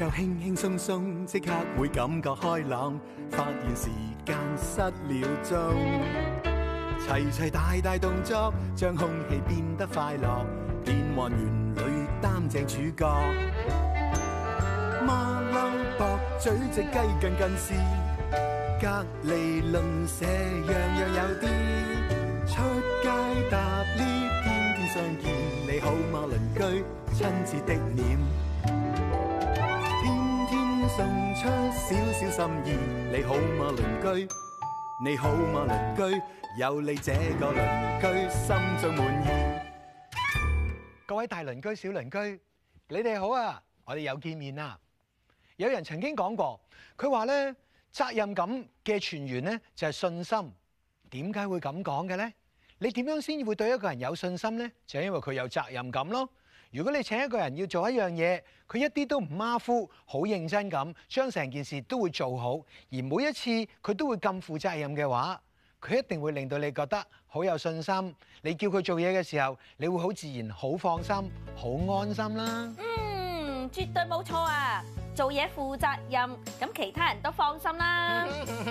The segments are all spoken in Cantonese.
就輕輕鬆鬆，即刻會感覺開朗，發現時間失了蹤。齊齊大大動作，將空氣變得快樂，變幻園裏擔正主角。馬騮駁嘴隻雞近近視，隔離鄰舍樣樣有啲。出街搭 lift，天天相見，你好嗎鄰居？親切的臉，天天送出少少心意，你好嗎鄰居？你好嗎鄰居？有你這個鄰居，心中滿意。各位大鄰居、小鄰居，你哋好啊！我哋又見面啦。有人曾經講過，佢話咧，責任感嘅泉源咧就係信心。點解會咁講嘅咧？你點樣先會對一個人有信心咧？就係因為佢有責任感咯。如果你請一個人要做一樣嘢，佢一啲都唔馬虎，好認真咁將成件事都會做好，而每一次佢都會咁負責任嘅話，佢一定會令到你覺得好有信心。你叫佢做嘢嘅時候，你會好自然、好放心、好安心啦。 絕對冇錯啊！做嘢負責任，咁其他人都放心啦。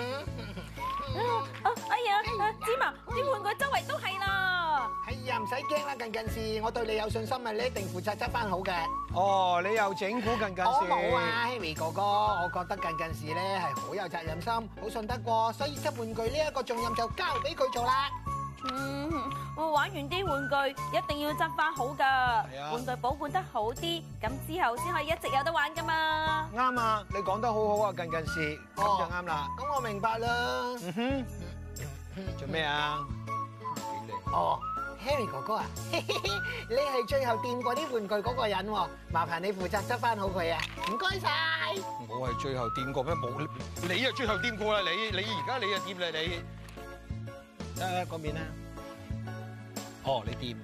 哎呀，芝麻，啲玩具周圍都係啦。 係呀，唔使驚啦，近視，我對你有信心啊，你一定負責執翻好嘅。 哦，你又整蠱近視？ 我冇啊 ，Harry 哥哥，我覺得近視咧係好有責任心，好信得過，所以執玩具呢一個重任就交俾佢做啦。 我玩完啲玩具一定要執翻好㗎，玩具保管得好啲，咁之後先可以一直有得玩㗎嘛。 啱啊，你講得好好啊，近視，咁就啱啦。 咁我明白啦。 做咩啊？ 哦 ，Harry 哥哥啊，你係最後掂過啲玩具嗰個人喎，麻煩你負責執翻好佢啊，唔該晒。 我係最後掂過咩？冇，你啊最後掂過啦，你而家你啊掂啦你。嗰邊啦。哦，你掂。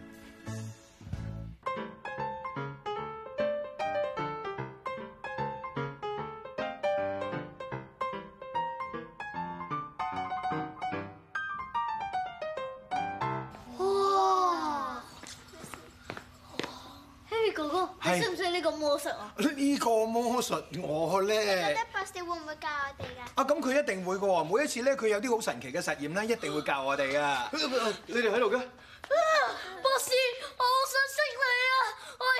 哇 ，Harry 哥哥，你識唔識呢個魔術啊？ 呢個魔術我咧， 覺得博士會唔會教我哋㗎？ 啊咁佢一定會㗎喎，每一次咧佢有啲好神奇嘅實驗咧，一定會教我哋㗎。你哋喺度嘅？ 博士，我好想識你啊！我係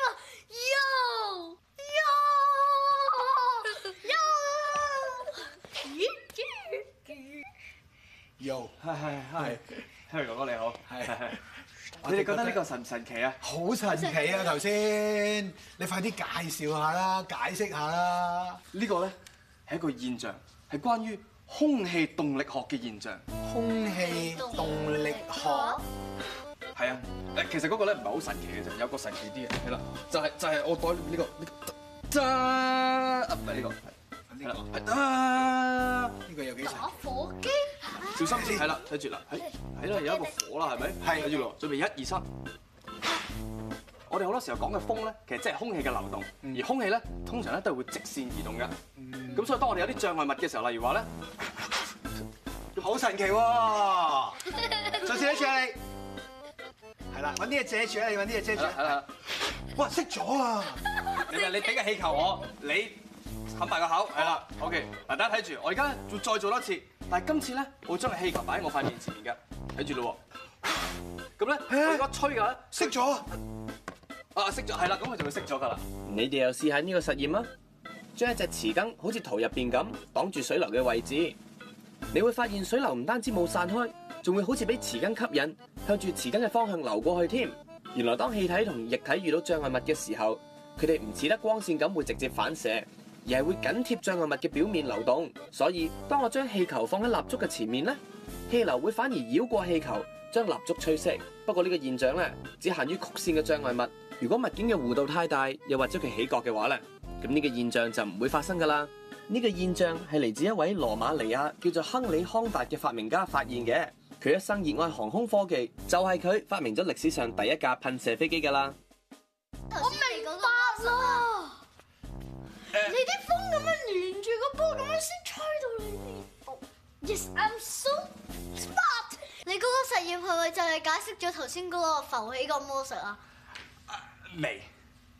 Yo，係 ，Harry 哥哥你好， 係。 你哋覺得呢個神唔神奇啊？ 好神奇啊！頭先，你快啲介紹下啦，解釋下啦。 呢個咧係一個現象，係關於空氣動力學嘅現象。 空氣動力學係啊，其實嗰個咧唔係好神奇嘅啫，有個神奇啲嘅，係啦，就係我袋呢個，唔係呢個，係啦， 呢個有幾神？ 打火機， 小心先，係啦，睇住啦，係啦，有一個火啦，係咪？ 係， 睇住咯，準備1、2、3。我哋好多時候講嘅風咧，其實即係空氣嘅流動，而空氣咧通常咧都係會直線移動嘅。咁所以當我哋有啲障礙物嘅時候，例如話咧， 好神奇喎！再試一次啊你，係啦，揾啲嘢遮住啊！你揾啲嘢遮住。 係啦。 哇，熄咗啊！ 你俾個氣球我，你冚埋個口，係啦。OK，嗱大家睇住，我而家再做多一次，但係今次咧，我會將個氣球擺喺我塊面前面嘅，睇住咯喎。咁咧，我而家吹嘅咧， 熄咗。 熄咗，係啦，咁佢就會熄咗㗎啦。 你哋又試下呢個實驗啊！將一隻匙羹好似圖入邊咁擋住水流嘅位置，你會發現水流唔單止冇散開，仲會好似俾匙羹吸引，向住匙羹嘅方向流過去添。原來當氣體同液體遇到障礙物嘅時候，佢哋唔似得光線咁會直接反射，而係會緊貼障礙物嘅表面流動。所以當我將氣球放喺蠟燭嘅前面呢，氣流會反而繞過氣球，將蠟燭吹熄。不過呢個現象咧，只限於曲線嘅障礙物。如果物件嘅弧度太大，又或者佢起角嘅話咧，咁呢個現象就唔會發生噶啦。呢個現象係嚟自一位羅馬尼亞叫做亨利康達嘅發明家發現嘅。佢一生熱愛航空科技，就係佢發明咗歷史上第一架噴射飛機噶啦。 我明白啦，你啲風咁樣連住個波咁樣先吹到你呢度。Yes, I'm so smart。你嗰個實驗係咪就係解釋咗頭先嗰個浮起個魔術啊？ 未，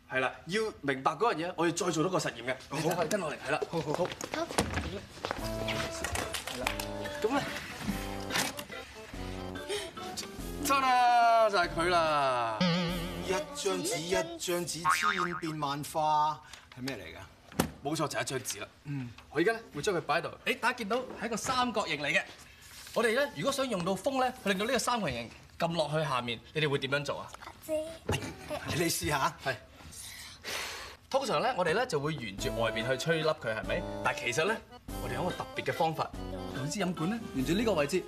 係啦，要明白嗰樣嘢，我要再做多個實驗嘅。好，跟落嚟，係啦，好。 好。 係啦，咁咧，真啦，就係佢啦。 一張紙一張紙，千變萬化，係咩嚟㗎？ 冇錯，就係一張紙啦。我而家咧會將佢擺喺度。誒，大家見到係一個三角形嚟嘅。我哋咧如果想用到風咧，去令到呢個三角形撳落去下面，你哋會點樣做啊？ 你試下。 係。通常咧，我哋咧就會沿住外邊去吹凹佢，係咪？但係其實咧，我哋有一個特別嘅方法，用支飲管咧，沿住呢個位置。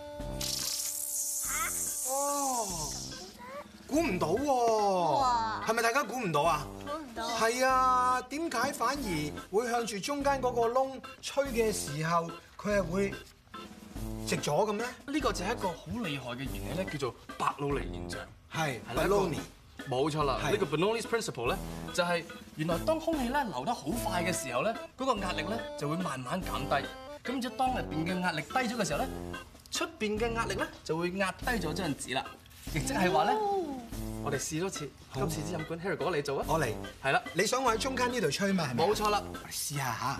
哦，估唔到喎，係咪大家估唔到啊？ 估唔到。 係啊，點解反而會向住中間嗰個窿吹嘅時候，佢係會直咗咁咧？ 呢個就係一個好厲害嘅原理咧，叫做伯努尼現象。 係啦 Bernoulli 冇錯啦， 係呢個 Bernoulli's principle 咧，就係原來當空氣咧流得好快嘅時候咧，嗰個壓力咧就會慢慢減低。咁然之後當入邊嘅壓力低咗嘅時候咧，出邊嘅壓力咧就會壓低咗張紙啦。亦即係話咧，我哋試多次，今次支飲管 Harry 哥你做啊？ 我嚟。 係啦， 你想我喺中間呢度吹嘛？係咪？ 冇錯啦。 我哋試下嚇。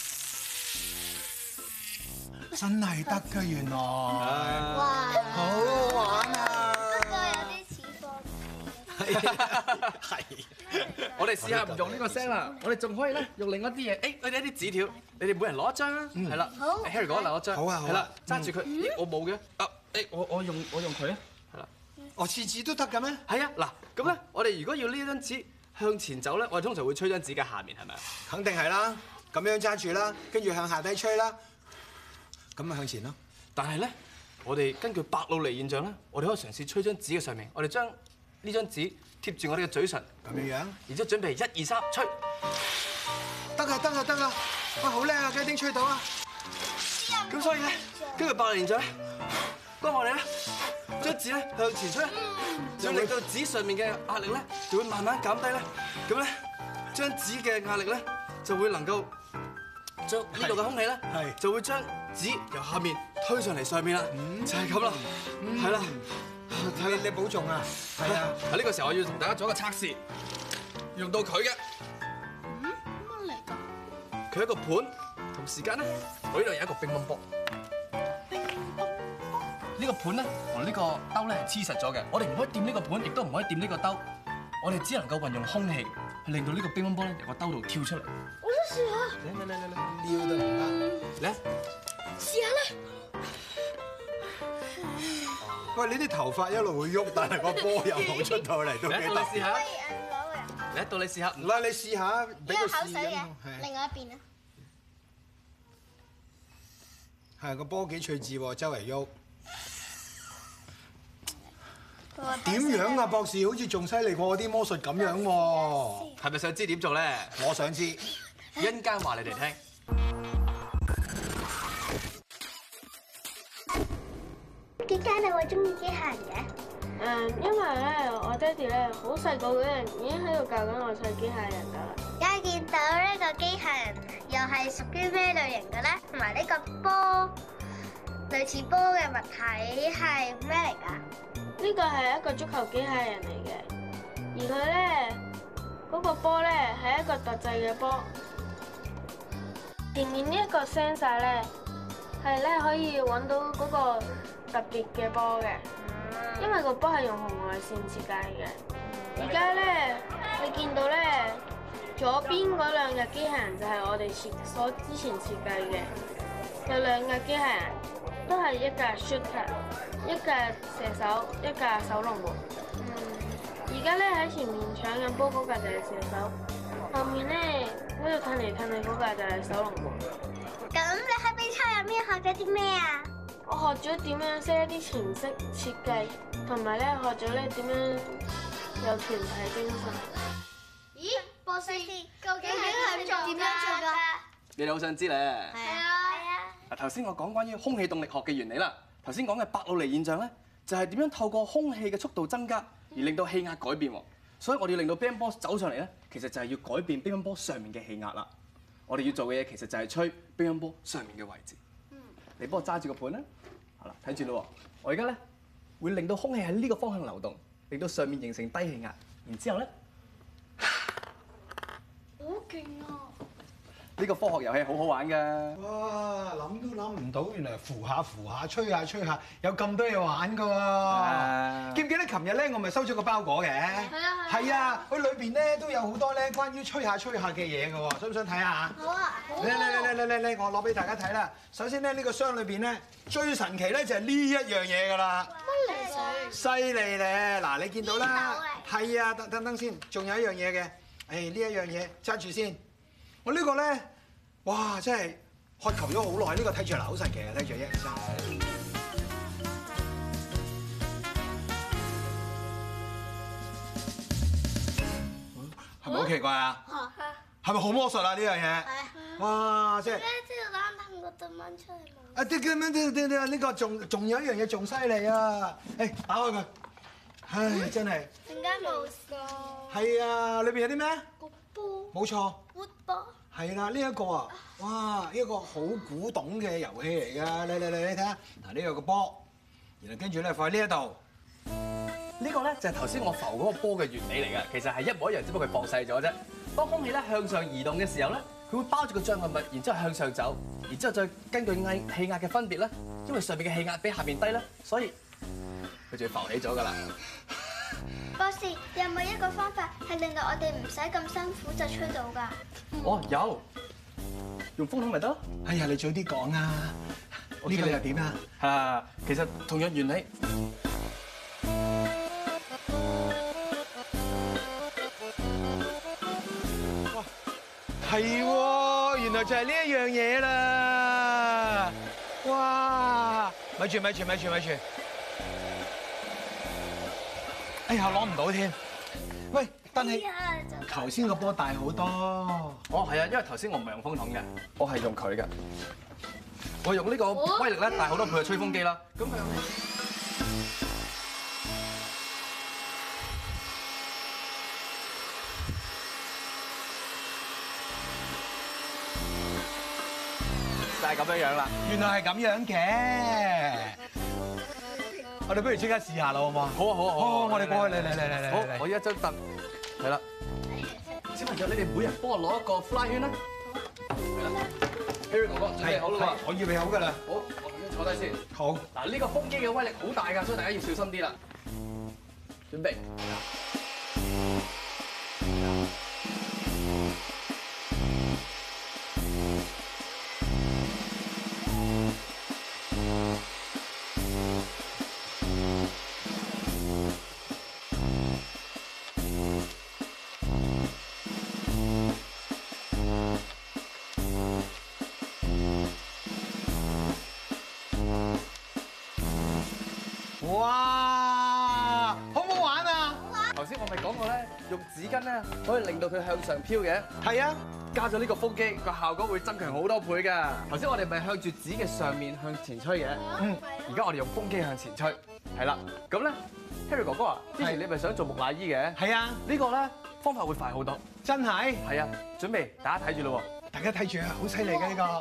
真係得㗎，原來。 哇！ 好好玩啊！ 不過有啲似放係。 我哋試下唔用呢個聲啦，我哋仲可以咧用另一啲嘢。誒，我哋一啲紙條，你哋每人攞一張啊。係啦。 好 Harry 哥攞一張。 好啊好啊係啦，揸住佢。咦，我冇嘅。啊，誒，我用佢啊。係啦。 哦，次次都得嘅咩？ 係啊，嗱，咁咧，我哋如果要呢張紙向前走咧，我哋通常會吹張紙嘅下面，係咪啊？ 肯定係啦，咁樣揸住啦，跟住向下低吹啦，咁咪向前咯。 但係咧，我哋根據伯努尼現象咧，我哋可以嘗試吹張紙嘅上面，我哋將呢張紙貼住我哋嘅嘴唇， 咁樣樣， 然之後準備1、2、3，吹。 得啊得啊得啊！哇，好叻啊，雞丁吹到啊！ 咁所以咧，根據伯努尼現象咧，當我哋咧將紙咧向前吹，就令到紙上面嘅壓力咧就會慢慢減低咧，咁咧張紙嘅壓力咧就會能夠將呢度嘅空氣咧係就會將紙由下面推上嚟上面啦，就係咁啦，係啦， 你保重啊！係啊， 喺呢個時候我要同大家做一個測試，用到佢嘅， 乜嚟㗎？ 佢一個盤，同時間咧我呢度有一個乒乓波。呢個盤咧同呢個兜咧係黐實咗嘅，我哋唔可以掂呢個盤，亦都唔可以掂呢個兜，我哋只能夠運用空氣去令到呢個乒乓波咧由個兜度跳出嚟。 我想試下。 嚟， 撩得唔得？ 嚟， 試下咧。 喂，你啲頭髮一路會喐，但係個波又冇出到嚟，都幾嚟，到你試特別。 下， 攞嚟到你試下， 唔該，你試下，俾呢個試音。 個口水嘅， 係另外一邊啊。 係個波幾趣致喎，周圍喐。點樣啊，博士？好似仲犀利過我啲魔術咁樣喎。 係咪想知點做咧？ 我想知。 一陣間話你哋聽。 點解你會中意機械人嘅？ 因為咧，我爹哋咧好細個嗰陣已經喺度教緊我砌機械人㗎啦。 而家見到呢個機械人又係屬於咩類型嘅咧？同埋呢個波類似波嘅物體係咩嚟㗎？ 呢個係一個足球機械人嚟嘅，而佢咧嗰個波咧係一個特製嘅波。前面呢一個 sensor 咧係咧可以揾到嗰個特別嘅波嘅，因為個波係用紅外線設計嘅。而家咧你見到咧左邊嗰兩架機械人就係我哋之前設計嘅，有兩架機械人都係一架 shooter， 一架射手，一架守龍門。而家咧喺前面搶緊波嗰架就係射手，後面咧喺度褪嚟褪去嗰架就係守龍門。 咁你喺比賽入面學咗啲咩啊？ 我學咗點樣識一啲程式設計，同埋咧學咗咧點樣有團體精神。 咦，博士，究竟係點樣做㗎？ 你哋好想知咧？ 係啊。 嗱，頭先我講關於空氣動力學嘅原理啦。頭先講嘅伯努尼現象咧，就係點樣透過空氣嘅速度增加而令到氣壓改變喎。所以我哋要令到乒乓波走上嚟咧，其實就係要改變乒乓波上面嘅氣壓啦。我哋要做嘅嘢其實就係吹乒乓波上面嘅位置。你幫我揸住個盤啦。好啦，睇住咯。我而家咧會令到空氣喺呢個方向流動，令到上面形成低氣壓。然之後咧。 呢個科學遊戲好好玩㗎。 哇！諗都諗唔到，原來扶下扶下，吹下吹下，有咁多嘢玩㗎喎！記唔記得琴日咧，我咪收咗個包裹嘅？係啊，佢裏邊咧都有好多咧關於吹下吹下嘅嘢㗎喎，想唔想睇下？ 好啊！ 嚟，我攞俾大家睇啦。首先咧，呢個箱裏邊咧最神奇咧就係呢一樣嘢㗎啦。 乜嚟㗎？ 犀利咧！嗱，你見到啦，係啊，等先，仲有一樣嘢嘅。呢一樣嘢揸住先。我呢個咧，哇！真係渴求咗好耐，呢個睇住嗱好神奇啊！睇住1、2、3，係咪好奇怪啊？係咪好魔術啊？呢樣嘢？哇！即係即係攬氹個對蚊出嚟冇？ 啊！啲咁樣呢個仲有一樣嘢仲犀利啊！打開佢，唉，真係。 點解冇㗎？ 係啊，裏邊有啲咩？ 個波。 冇錯。 活波。 係啦，呢一個啊，哇！呢一個好古董嘅遊戲嚟㗎，你睇下，嗱呢個個波，然後跟住咧放喺呢一度。 呢個咧就係頭先我浮嗰個波嘅原理嚟㗎，其實係一模一樣，只不過佢放細咗啫。當空氣咧向上移動嘅時候咧，佢會包住個障礙物，然之後向上走，然之後再根據氣壓嘅分別咧，因為上邊嘅氣壓比下邊低咧，所以佢就會浮起咗㗎啦。 博士，有冇一個方法係令到我哋唔使咁辛苦就吹到㗎？ 哦，有，用風筒咪得咯。 哎呀，你早啲講啊！呢個又點啊？ 其實同樣原理。 係喎，原來就係呢一樣嘢啦！哇！咪住！哎呀，攞唔到添。喂，但係頭先個波大好多。 哦，係啊，因為頭先我唔係用風筒嘅，我係用佢嘅。我用呢個威力咧大好多倍嘅吹風機啦。咁佢就係咁樣樣啦。 原來係咁樣嘅。我哋不如即刻試下啦，好唔好啊？ 好啊！ 好，我哋過去嚟。 好，我依一張凳，係啦。小朋友，你哋每人幫我攞一個 fly 圈啦。係啦 ，Harry 哥哥準備好啦喎， 我預備好㗎啦。 好，我咁樣坐低先。 好。 嗱，呢個風機嘅威力好大㗎，所以大家要小心啲啦。準備。 哇！好唔好玩啊？ 頭先我咪講過咧，用紙巾咧可以令到佢向上飄嘅。 係啊， 加咗呢個風機，個效果會增強好多倍㗎。頭先我哋咪向住紙嘅上面向前吹嘅，而家我哋用風機向前吹，係啦。咁咧 ，Harry 哥哥啊，之前你咪想做木乃伊嘅？ 係啊， 呢個咧方法會快好多。 真係。 係啊，準備大家睇住咯喎， 大家睇住啊，好犀利嘅呢個。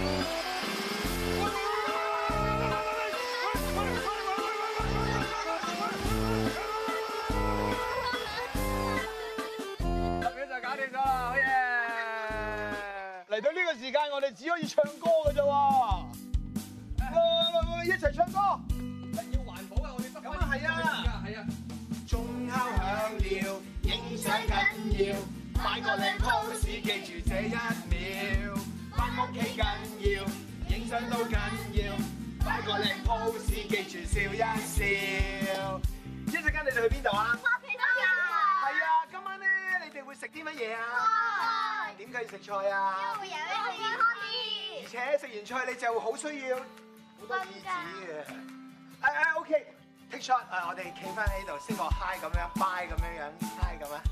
嚟到呢個時間，我哋只可以唱歌嘅啫喎。一齊唱歌， 要環保啊！我哋得咁啊係啊， 係啊。 鐘敲響了，影相緊要，擺個靚 pose 記住這一秒，返屋企緊要，影相都緊要，擺個靚 pose 記住笑一笑。一陣間你哋去邊度啊？係啊，今晚咧你哋會食啲乜嘢啊？點解要食菜啊？ 因為會健康啲。 而且食完菜你就好需要好多廁紙嘅。OK，take shot，我哋企翻喺度先個 high 咁樣 ，bye 咁樣樣 ，high 咁啊。